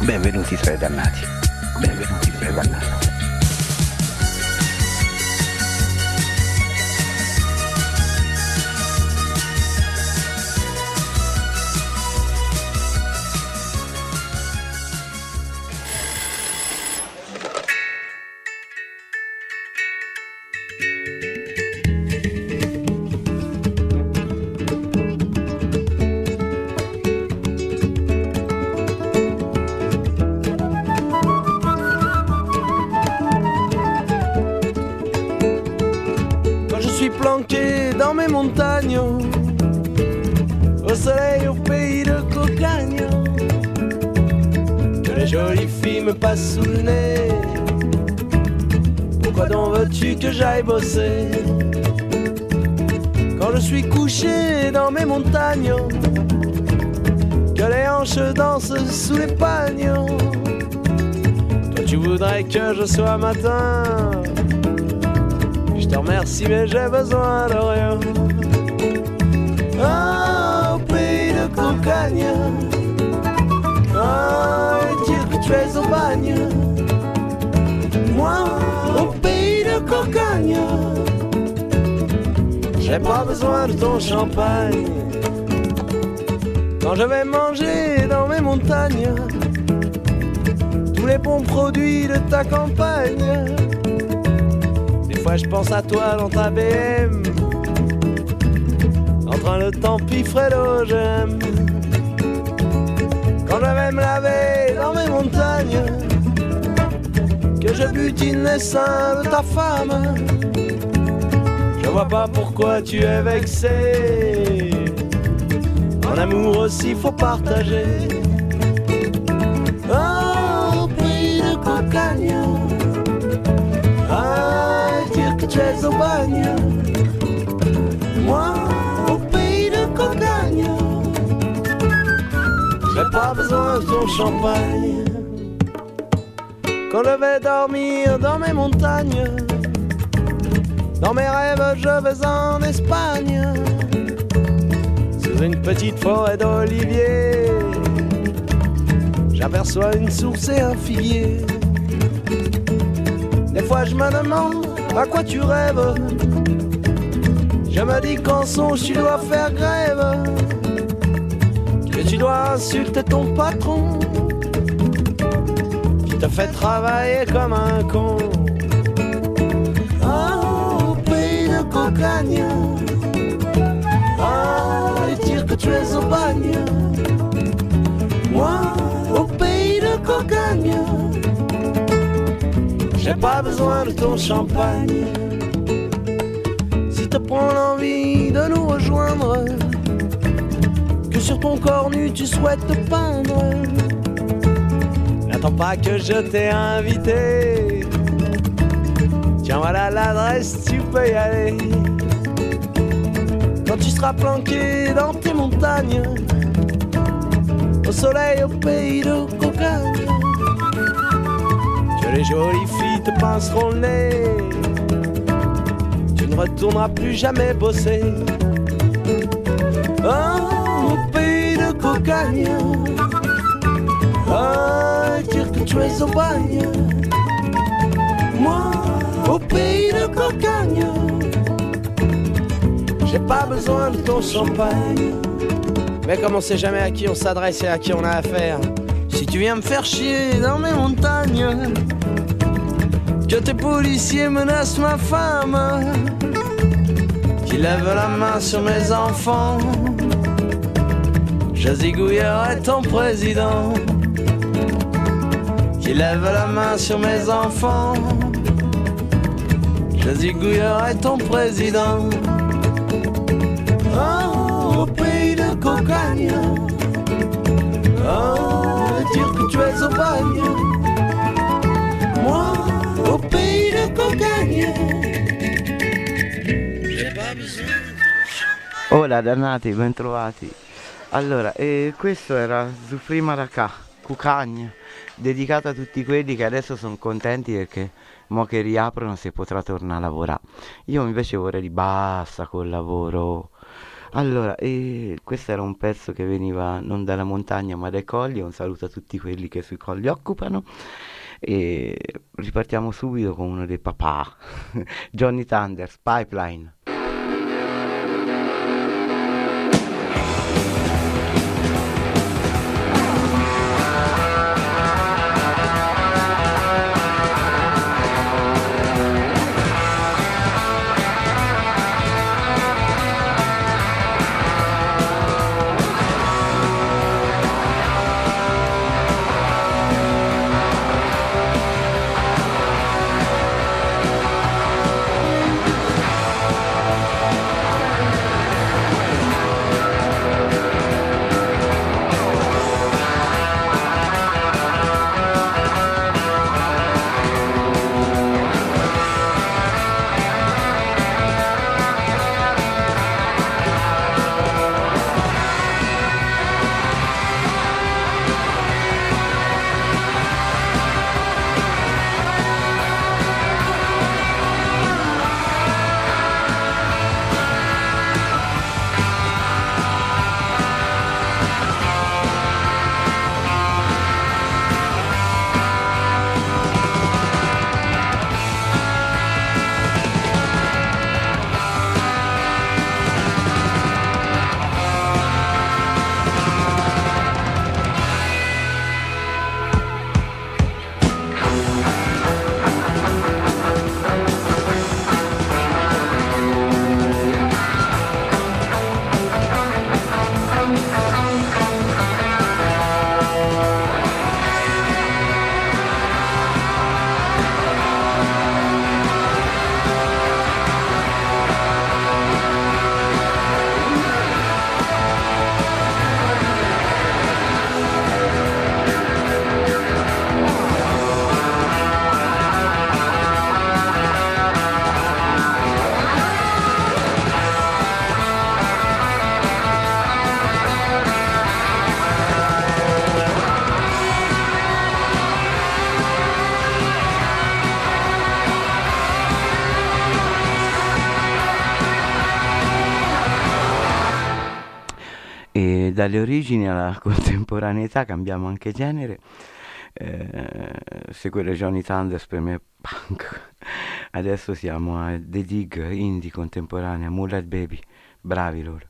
Benvenuti tra i dannati. Benvenuti tra i dannati. Planqué dans mes montagnes, au soleil, au pays de cocagne, que les jolies filles me passent sous le nez. Pourquoi donc veux-tu que j'aille bosser quand je suis couché dans mes montagnes, que les hanches dansent sous les pagnes? Toi tu voudrais que je sois matin. Je te remercie mais j'ai besoin de rien. Ah, au pays de cocagne, ah, et dire que tu es au bagne. Moi, au pays de cocagne, j'ai pas besoin de ton champagne. Quand je vais manger dans mes montagnes tous les bons produits de ta campagne, fois je pense à toi dans ta BM, en train de Fredo j'aime. Quand je vais me laver dans mes montagnes, que je butine les seins de ta femme, je vois pas pourquoi tu es vexé. En amour aussi faut partager. Oh, au pays de cocagne, tu es au bagne. Moi, au pays de cocagne, j'ai pas besoin de ton champagne. Quand je vais dormir dans mes montagnes, dans mes rêves je vais en Espagne, sous une petite forêt d'oliviers, j'aperçois une source et un figuier. Des fois je me demande à quoi tu rêves. Je me dis qu'en songe tu dois faire grève, que tu dois insulter ton patron qui te fait travailler comme un con. Oh, au pays de cocagne, ah, et dire que tu es au bagne. Moi, au pays de cocagne, j'ai pas besoin de ton champagne. Si te prend l'envie de nous rejoindre, que sur ton corps nu tu souhaites te peindre, n'attends pas que je t'ai invité. Tiens voilà l'adresse, tu peux y aller. Quand tu seras planqué dans tes montagnes, au soleil, au pays de cocagne, les jolies filles te pinceront le nez, tu ne retourneras plus jamais bosser. Oh, au pays de cocagne, oh, dire que tu es au bagne. Moi, au pays de cocagne, j'ai pas besoin de ton champagne. Mais comme on sait jamais à qui on s'adresse et à qui on a affaire, si tu viens me faire chier dans mes montagnes, que tes policiers menacent ma femme, qu'ils lèvent la main sur mes enfants, je zigouillerai ton président. Qu'ils lèvent la main sur mes enfants, je zigouillerai ton président. Oh, au pays de cocagne, oh, dire que tu es au bagne. Moi, au pays de cocagne, j'ai pas besoin. Hola dannati, bentrovati. Allora, questo era Zufri Maracà, Cucagna, dedicato a tutti quelli che adesso sono contenti perché mo che riaprono si potrà tornare a lavorare. Io invece vorrei di basta col lavoro. Allora, questo era un pezzo che veniva non dalla montagna ma dai colli. Un saluto a tutti quelli che sui colli occupano. E ripartiamo subito con uno dei papà, Johnny Thunders, Pipeline. E dalle origini alla contemporaneità cambiamo anche genere. Seguire Johnny Thunders per me è punk. Adesso siamo a The Dig, indie contemporanea, Moonlight Baby, bravi loro.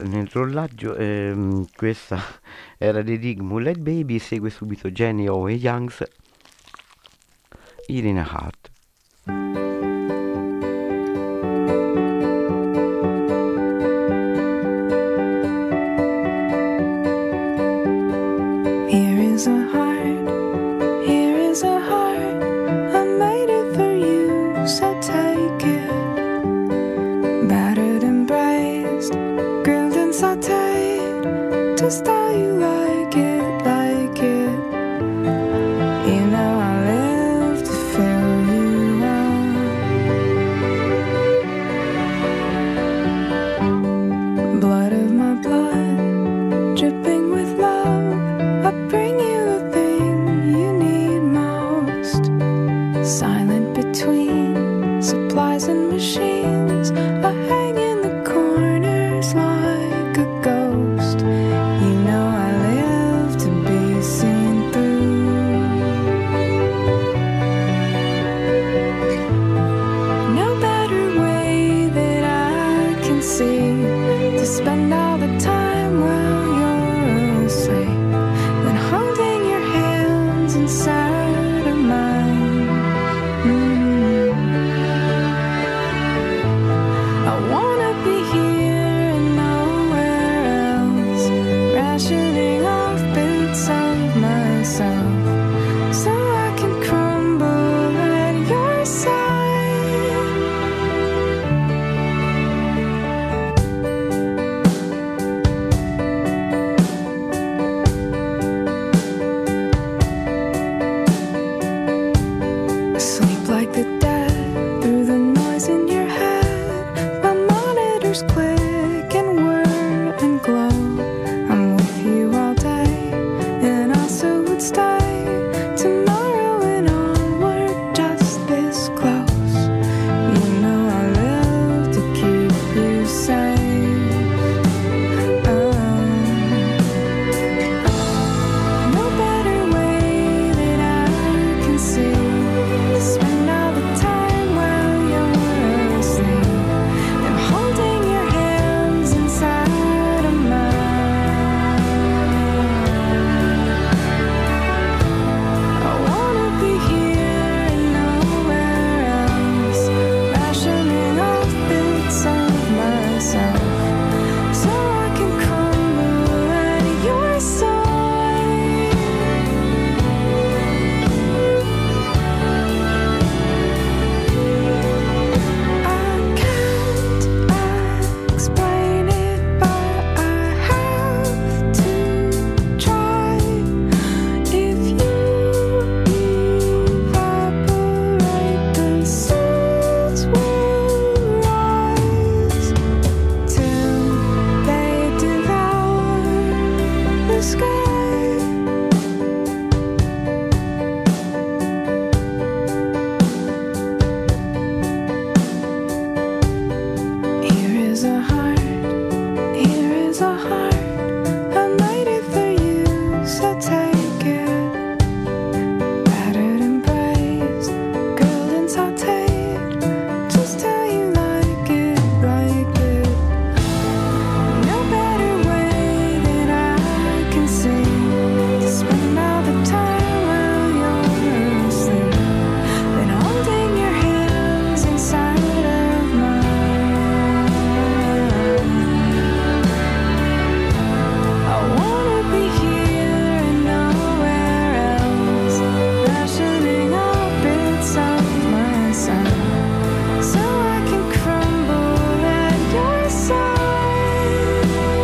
nel rollaggio. Questa era di Dig Mullet Baby, segue subito Jenny O e Youngs, Irina Hart. Here is a heart, here is a heart, I made it for you, so take it. Battered and braised, grilled and sauteed, just how you like it, like it. You know I live to fill you up. Blood of my blood, dripping with love, I bring you the thing you need most. Silent between supplies and machines, I hang in the corners like a ghost. You know I live to be seen through. No better way that I can see to spend all the time while you're asleep than holding your hands inside of mine. I wanna be here and nowhere else, rationing off bits of myself so I can crumble at your side. Sleep like the dead through the noise in your head. My monitors click and whir and glow. I'm with you all day and also would stay tomorrow and onward, just this close. You know I live to keep you safe. No better way that I can see to spend all the time while you're asleep than holding your hands inside of mine. I wanna be here and nowhere else, rationing off bits of myself so I can crumble at your side. I can't explain it, but I have to try. If you evaporate, the seas will rise till they devour the sky. Here is a heart, here is a heart, I made it for you, so take it. Battered and braised, grilled and sauteed, just how you like it, like it. No better way that I can see to spend all the time while you're asleep than holding your hands inside of mine. I wanna be here and nowhere else, rationing all bits of myself so I can crumble at your side.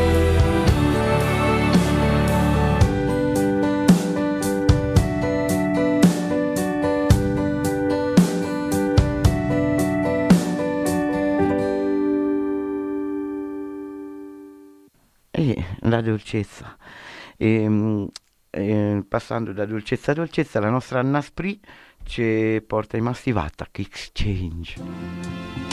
E la dolcezza. Passando da dolcezza a dolcezza, la nostra Anna Spree ci porta i Massive Attack Exchange.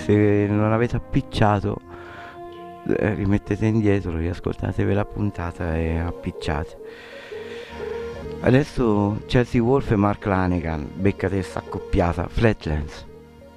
se non avete appicciato, rimettete indietro, riascoltatevi la puntata e appicciate. Adesso Chelsea Wolf e Mark Lanegan, beccate sta accoppiata, Flatlands.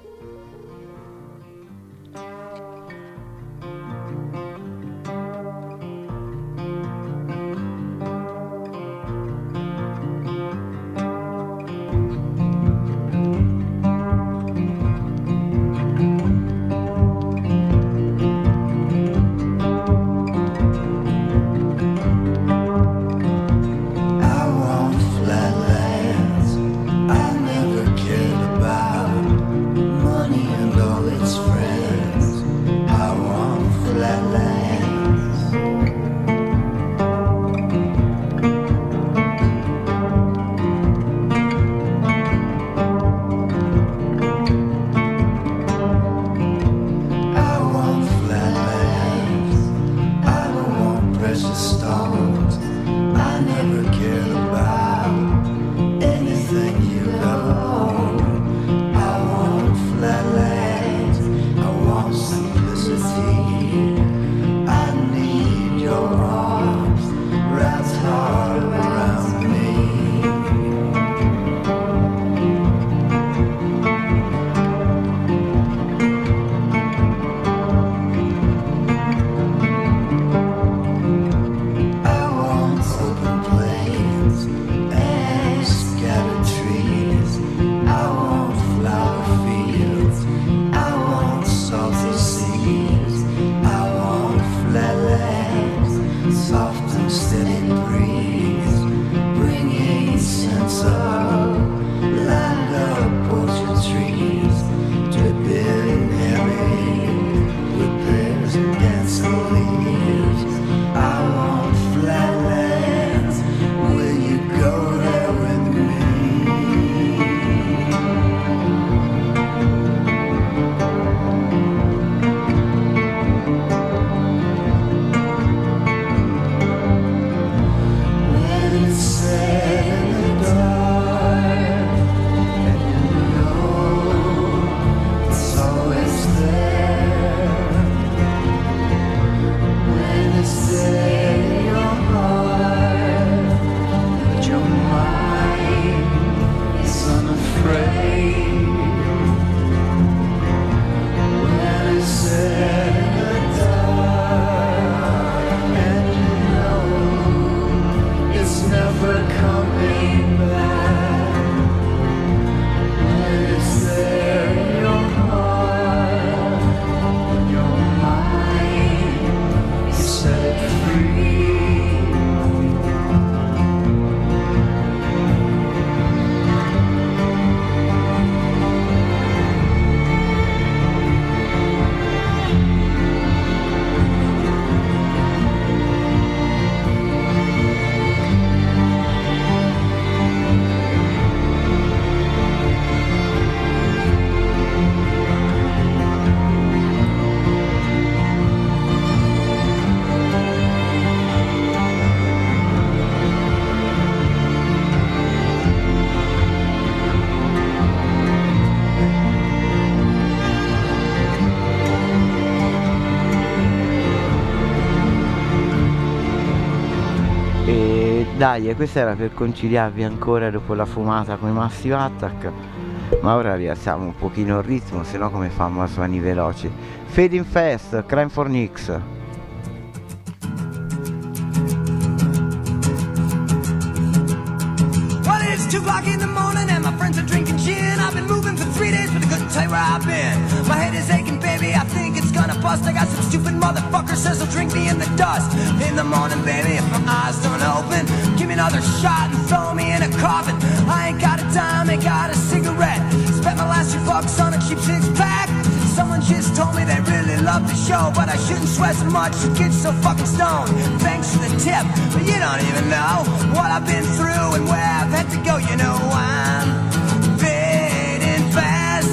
Dai, questa era per conciliarvi ancora dopo la fumata con i Massive Attack, ma ora rialziamo un pochino il ritmo, se no come fanno a suoni veloci. Fading Fast, Crime for Nix. Well, it's 2 o'clock in the morning and my friends are drinking gin. I've been moving for 3 days, but I couldn't tell you where I've been. My head is aching, baby, I think it's gonna bust. I got some stupid motherfucker says he'll drink me in the dust. In the morning, baby, if my eyes don't open, give me another shot and throw me in a coffin. I ain't got a dime, ain't got a cigarette. Spent my last $2 on a cheap 6-pack. Someone just told me they really love the show, but I shouldn't sweat so much to get so fucking stoned. Thanks for the tip, but you don't even know what I've been through and where I've had to go. You know I'm fading fast,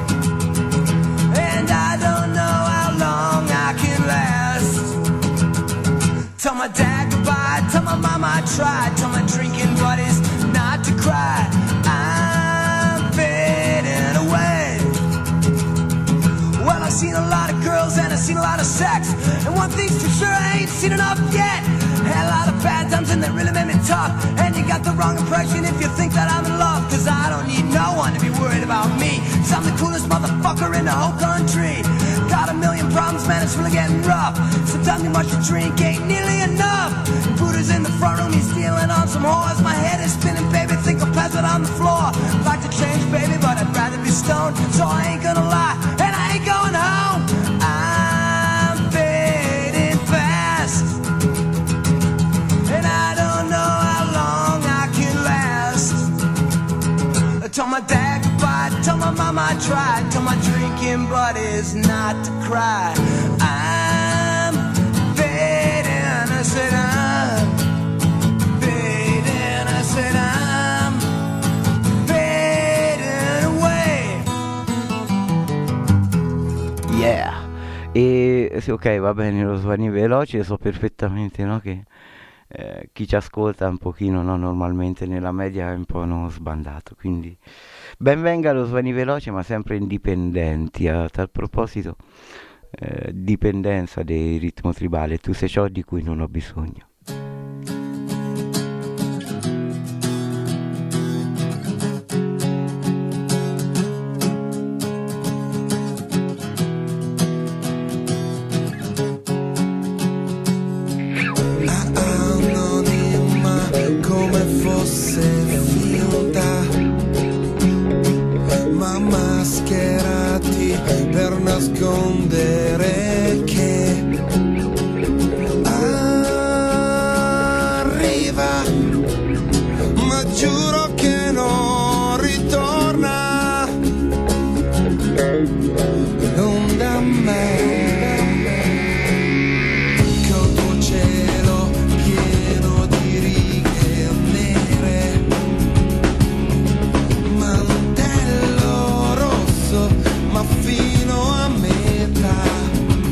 and I don't know how long I can last. Tell my dad goodbye, tell my mama I tried, tell my drinking buddies not to cry. I'm fading away. Well, I I've seen a lot of girls and I've seen a lot of sex, and one thing's for sure, I ain't seen enough yet. Had a lot of bad times and they really made me tough, and you got the wrong impression if you think that I'm in love, cause I don't need no one to be worried about me, cause I'm the coolest motherfucker in the whole country. Got a million problems, man, it's really getting rough. Sometimes too much to drink ain't nearly enough. Buddha's in the front room, he's stealing on some whores. My head is spinning, baby, think I'll pass it on the floor. Like to change, baby, but I'd rather be stoned, so I ain't gonna lie, and I ain't going home. I'm fading fast, and I don't know how long I can last. I told my dad goodbye, told my mama I tried, told my drinking buddies not to cry. I'm fading, I said I'm fading, I said I'm fading away. Yeah. E sì, ok, va bene, lo Svani veloce, so perfettamente, no, che chi ci ascolta un pochino, no, normalmente nella media è un po', no, sbandato, quindi ben venga lo Svani veloce, ma sempre indipendenti. A tal proposito, dipendenza del ritmo tribale, tu sei ciò di cui non ho bisogno. Come fosse finta, ma mascherati per nascondere che arriva, ma giuro che non ritorna, non da me. Fino a metà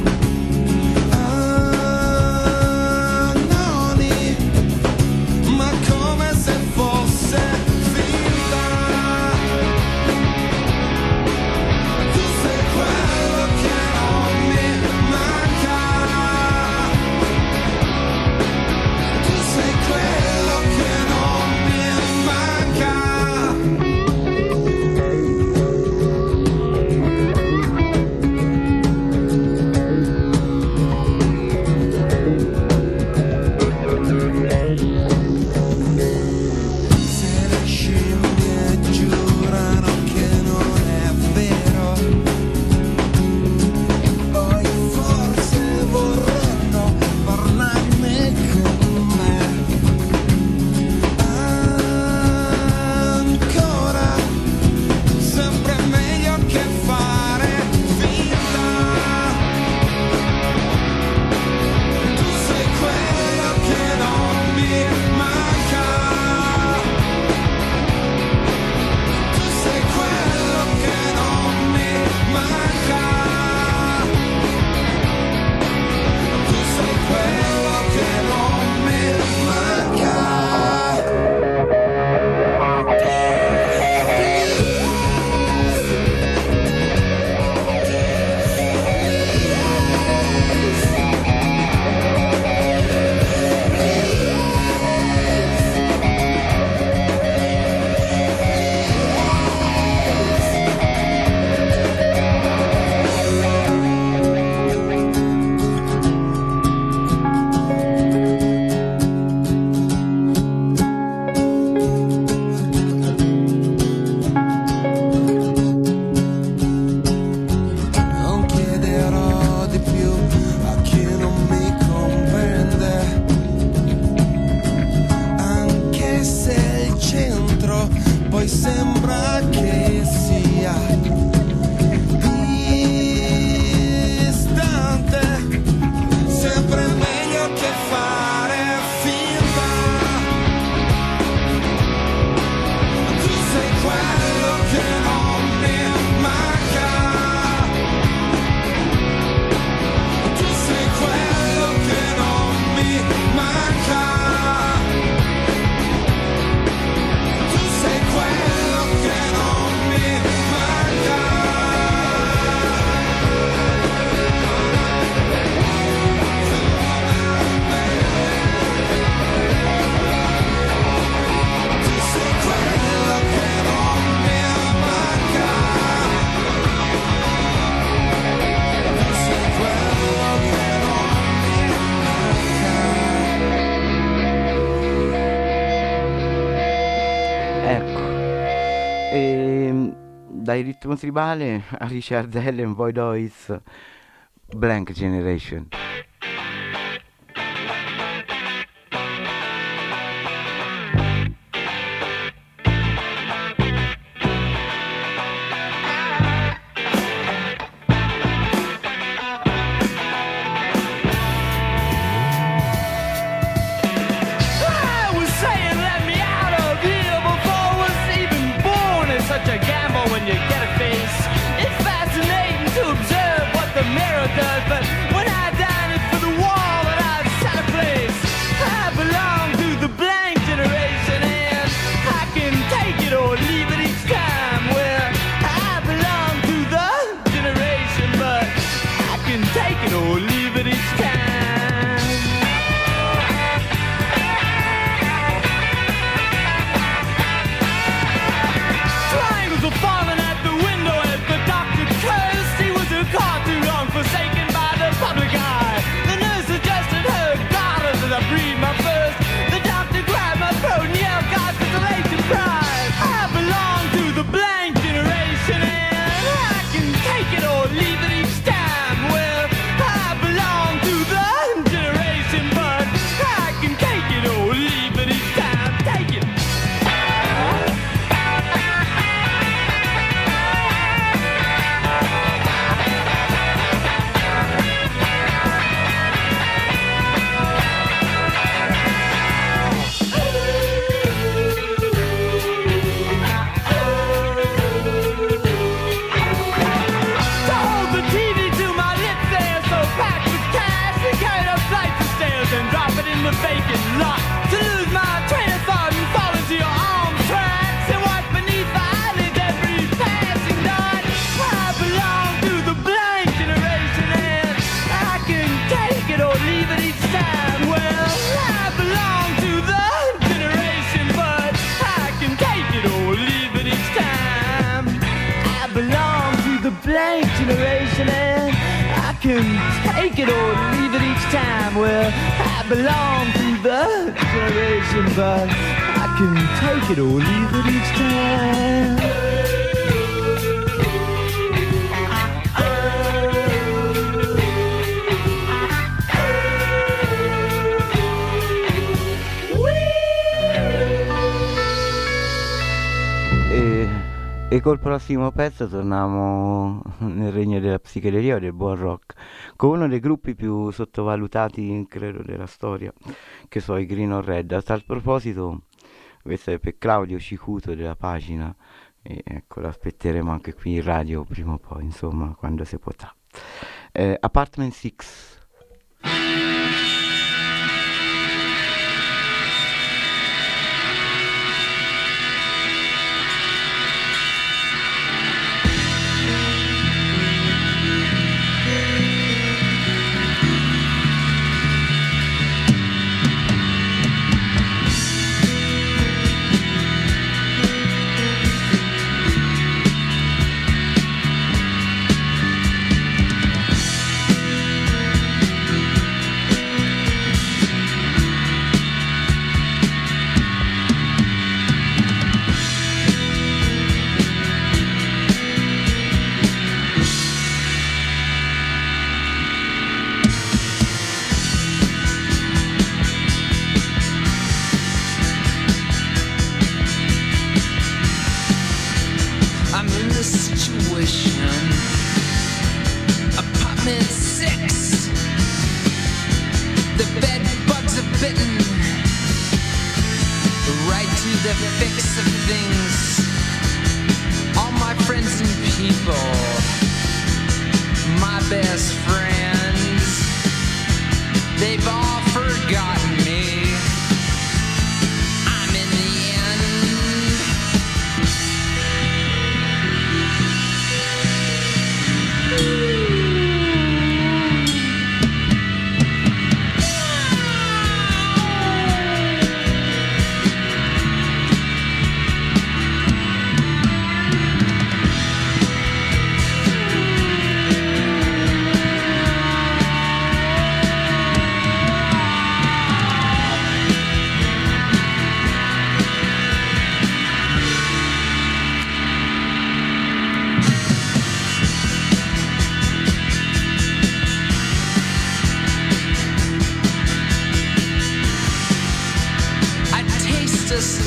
dai ritmo tribale a Richard Allen, Boy Doys, Blank Generation. Take it or leave it each time. Well, I belong to the generation, but I can take it or leave it each time. E col prossimo pezzo torniamo nel regno della psichedelia o del buon rock, con uno dei gruppi più sottovalutati, credo, della storia, che sono i Green or Red. A tal proposito, questo è per Claudio Cicuto della pagina, e ecco, l'aspetteremo anche qui in radio prima o poi, insomma, quando si potrà. Apartment 6.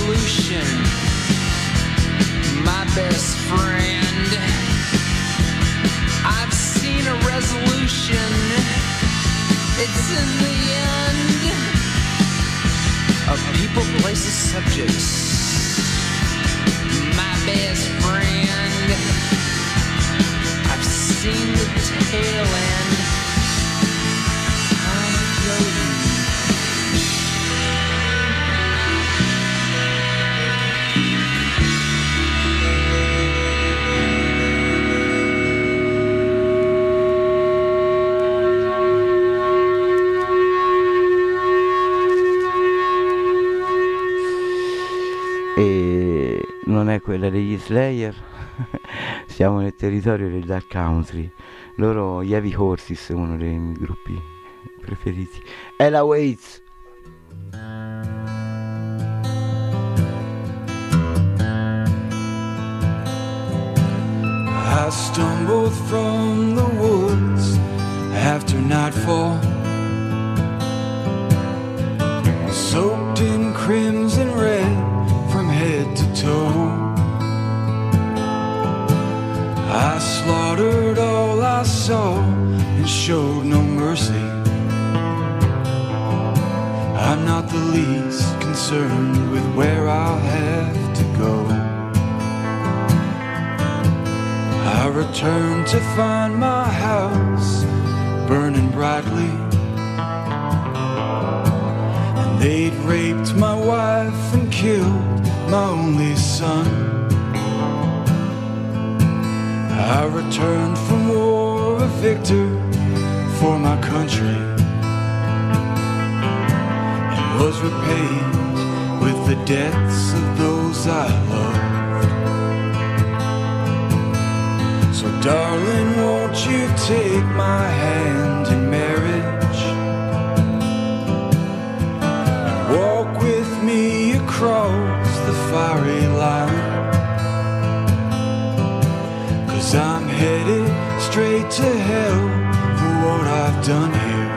resolution, my best friend. I've seen a resolution, it's in the end of people, places, subjects. My best friend, I've seen the tail end. I'm floating. E non è quella degli Slayer. Siamo nel territorio del Dark Country. Loro, gli Heavy Horses, uno dei miei gruppi preferiti. Ella Waits. I stumbled from the woods after nightfall, soaked in crimson red from head to toe. I slaughtered all I saw and showed no mercy. I'm not the least concerned with where I'll have to go. I returned to find my house burning brightly, and they'd raped my wife and killed my only son. I returned from war a victor for my country, and was repaid with the debts of those I loved. So darling, won't you take my hand in marriage and walk with me across the fiery line? 'Cause I'm headed straight to hell for what I've done here,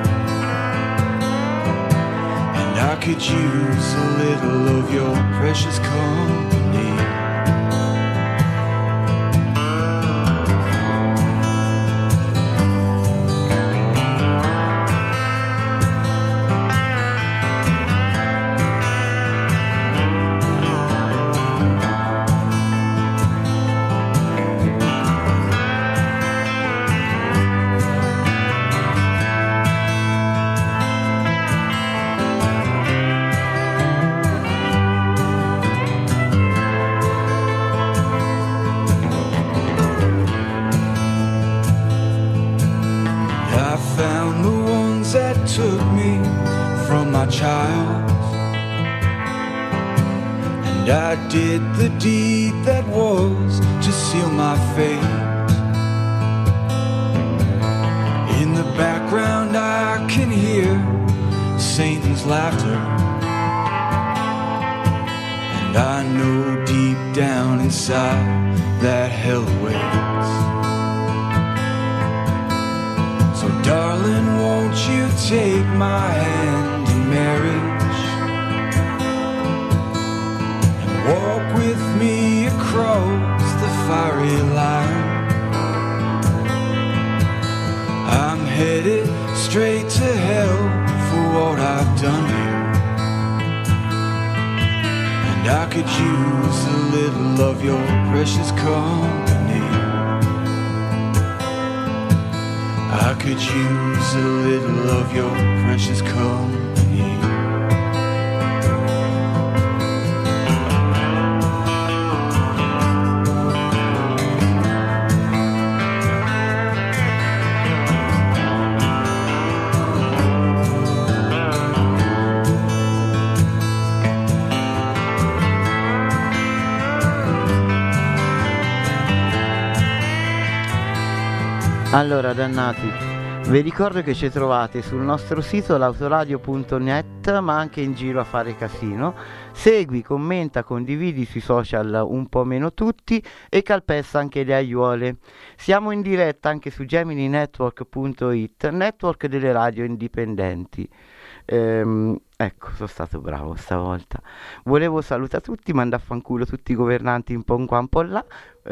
and I could use a little of your precious company. Took me from my child, and I did the deed that was to seal my fate. In the background I can hear Satan's laughter, and I know deep down inside that hell waits. So darling, won't you take my hand in marriage and walk with me across the fiery line? I'm headed straight to hell for what I've done here, and I could use a little of your precious company. I could use a little of your precious company. Allora, dannati, vi ricordo che ci trovate sul nostro sito l'autoradio.net, ma anche in giro a fare casino. Segui, commenta, condividi sui social un po' meno tutti e calpesta anche le aiuole. Siamo in diretta anche su gemininetwork.it, network delle radio indipendenti. Ecco, sono stato bravo stavolta. Volevo salutare tutti, mandare a fanculo tutti i governanti un po' qua, un po' là.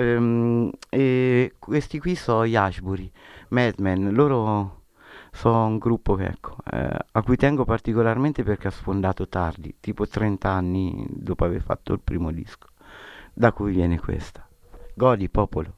E questi qui sono gli Ashbury, Madmen. Loro sono un gruppo che, ecco, a cui tengo particolarmente perché ha sfondato tardi, tipo 30 anni dopo aver fatto il primo disco. Da cui viene questa. Godi, popolo.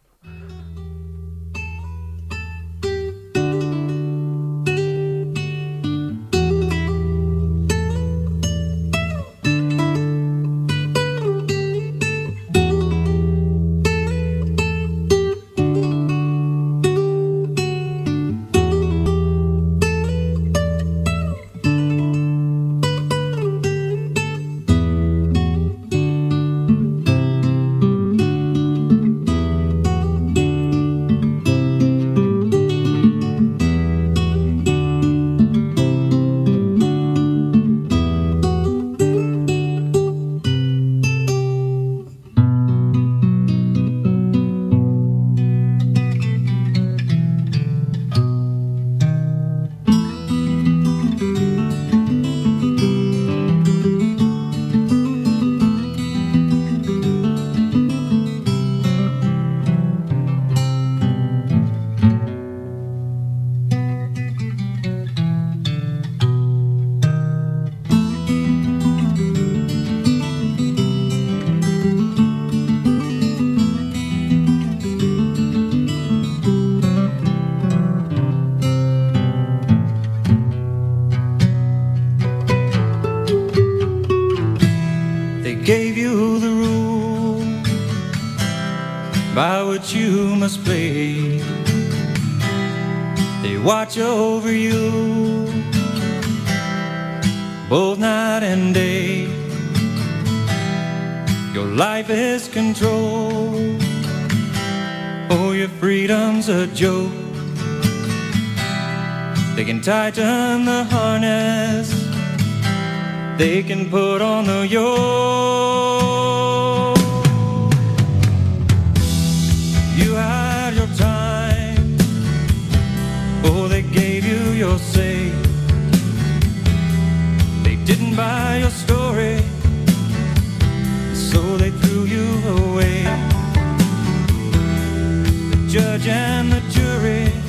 Gave you the rule by which you must play. They watch over you both night and day. Your life is controlled. Oh, your freedom's a joke. They can tighten the harness, they can put on the yoke. You had your time, oh, they gave you your say. They didn't buy your story, so they threw you away. The judge and the jury